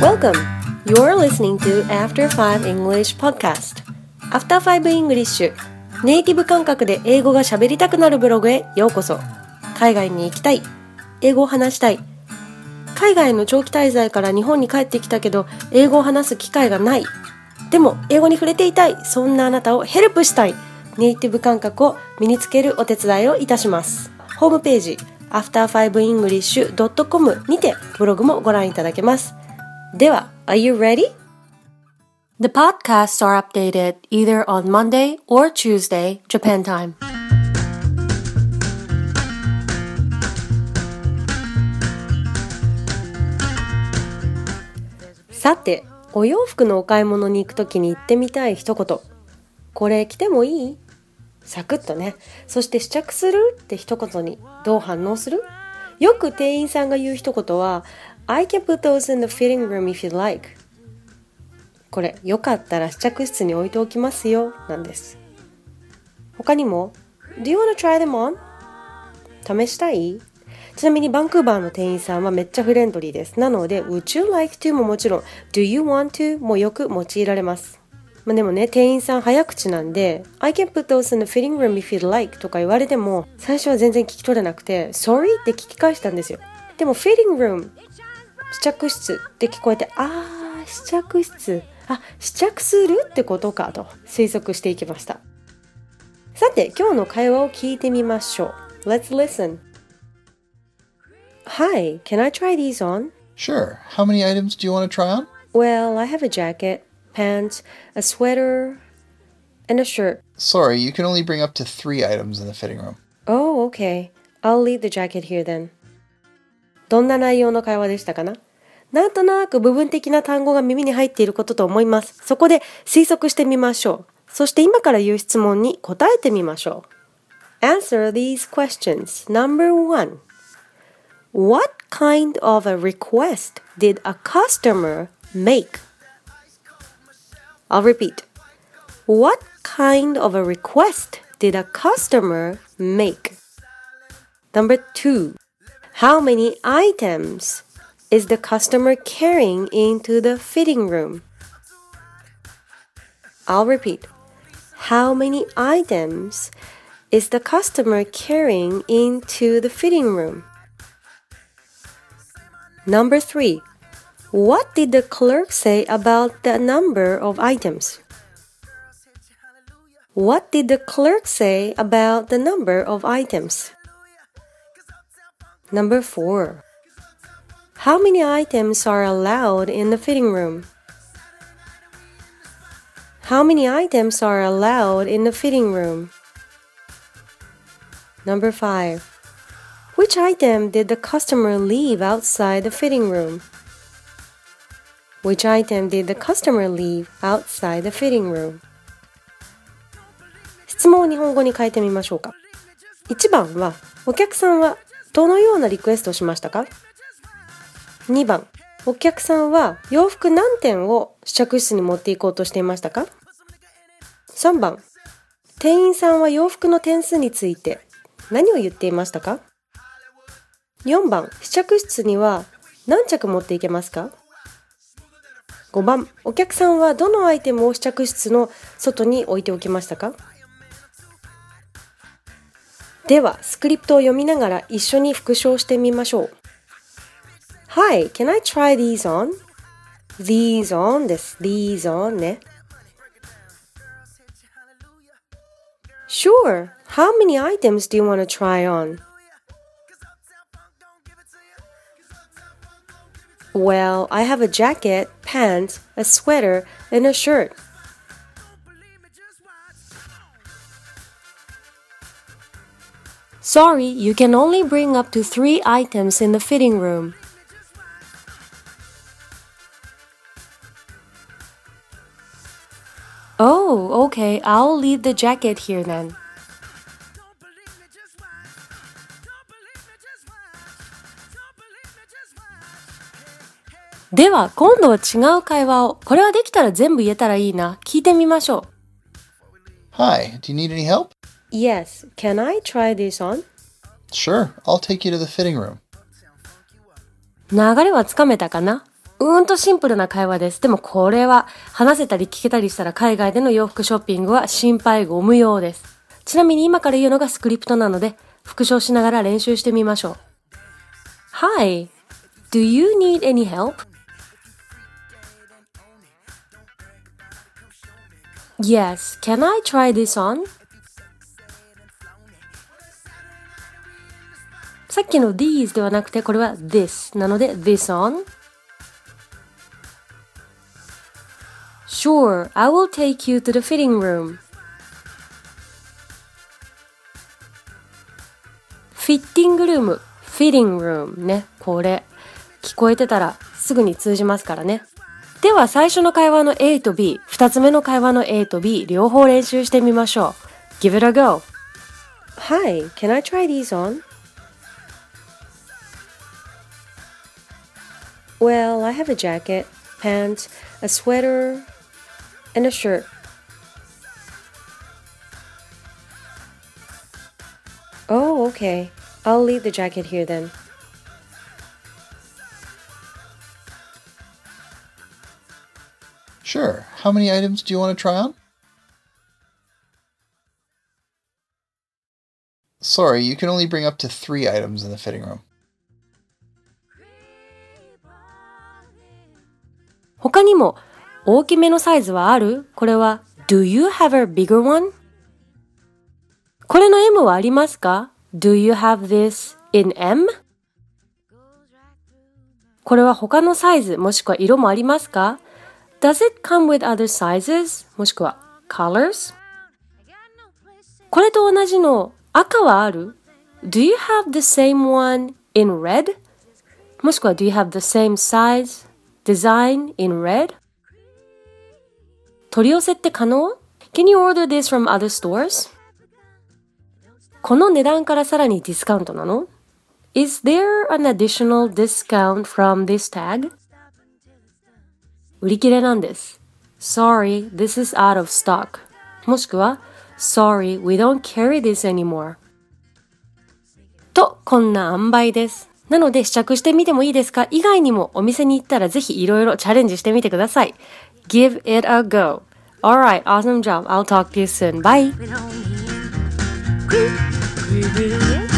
Welcome! You're listening to After 5 English Podcast. After 5 English ネイティブ感覚で英語が喋りたくなるブログへようこそ。海外に行きたい、英語を話したい、海外の長期滞在から日本に帰ってきたけど英語を話す機会がない、でも英語に触れていたい、そんなあなたをヘルプしたい、ネイティブ感覚を身につけるお手伝いをいたします。ホームページ after5english.com にてブログもご覧いただけます。では、Are you ready? The podcasts are updated either on Monday or Tuesday, Japan time. さて、お洋服のお買い物に行くときに言ってみたい一言。これ着てもいい？サクッとね。そして試着するって一言にどう反応する？よく店員さんが言う一言はI can put those in the fitting room if you like. これ、よかったら試着室に置いておきますよ、なんです。他にも Do you want to try them on? 試したい？ちなみにバンクーバーの店員さんはめっちゃフレンドリーです。なので Would you like to ももちろん Do you want to もよく用いられます。でもね、店員さん早口なんで I can put those in the fitting room if you like とか言われても最初は全然聞き取れなくて Sorry って聞き返したんですよ。でも fitting room 試着室って聞こえて試着室試着するってことかと推測していきました。さて今日の会話を聞いてみましょう。 Let's listen. Hi, can I try these on? Sure. How many items do you want to try on? Well, I have a jacket, pants, a sweater, and a shirt. Sorry, you can only bring up to 3 items in the fitting room. Oh, okay. I'll leave the jacket here then. どんな内容の会話でしたかな？なんとなく部分的な単語が耳に入っていることと思います。そこで推測してみましょう。そして今から言う質問に答えてみましょう。Answer these questions. Number 1. What kind of a request did a customer make? I'll repeat. What kind of a request did a customer make? Number 2. How many items is the customer carrying into the fitting room? I'll repeat. How many items is the customer carrying into the fitting room? Number 3. What did the clerk say about the number of items? What did the clerk say about the number of items? Number 4. How many items are allowed in the fitting room? How many items are allowed in the fitting room? Number 5. Which item did the customer leave outside the fitting room? Which item did the customer leave outside the fitting room? 質問を日本語に変えてみましょうか。1番は、お客さんはどのようなリクエストをしましたか？ 2番、お客さんは洋服何点を試着室に持っていこうとしていましたか？ 3番、店員さんは洋服の点数について何を言っていましたか？4番、試着室には何着持っていけますか？ 5番、お客さんはどのアイテムを試着室の外に置いておきましたか？では、スクリプトを読みながら一緒に復唱してみましょう。Hi, can I try these on? These on です。These on ね。Sure. How many items do you want to try on?Well, I have a jacket, pants, a sweater, and a shirt. Sorry, you can only bring up to 3 items in the fitting room. Oh, okay, I'll leave the jacket here then.では、今度は違う会話を、これはできたら全部言えたらいいな、聞いてみましょう。Hi, do you need any help? Yes, can I try this on? Sure, I'll take you to the fitting room. 流れはつかめたかな？ シンプルな会話です。でもこれは話せたり聞けたりしたら海外での洋服ショッピングは心配ご無用です。ちなみに今から言うのがスクリプトなので復唱しながら練習してみましょう。Hi, do you need any help? Yes, can I try this on? さっきの these ではなくてこれは this なので this on?Sure, I will take you to the fitting room. フィッティングルーム、フィッティングルームね。これ、聞こえてたらすぐに通じますからね。では最初の会話の A と B、二つ目の会話の A と B、両方練習してみましょう。Give it a go. Hi, can I try these on? Well, I have a jacket, pants, a sweater,and a shirt. Oh, okay. I'll leave the jacket here then. Sure. How many items do you want to try on? Sorry, you can only bring up to 3 items in the fitting room. 他にも大きめのサイズはある？これは Do you have a bigger one? これの M はありますか？ Do you have this in M? これは他のサイズもしくは色もありますか？ Does it come with other sizes? もしくは colors? これと同じの赤はある？ Do you have the same one in red? もしくは Do you have the same size?Design in red? 取り寄せって可能？ Can you order this from other stores? この値段からさらにディスカウントなの？ Is there an additional discount from this tag? 売り切れなんです。Sorry, this is out of stock. もしくは Sorry, we don't carry this anymore. と、こんな塩梅です。なので試着してみてもいいですか？以外にもお店に行ったらぜひいろいろチャレンジしてみてください。Give it a go. Alright, awesome job. I'll talk to you soon. Bye.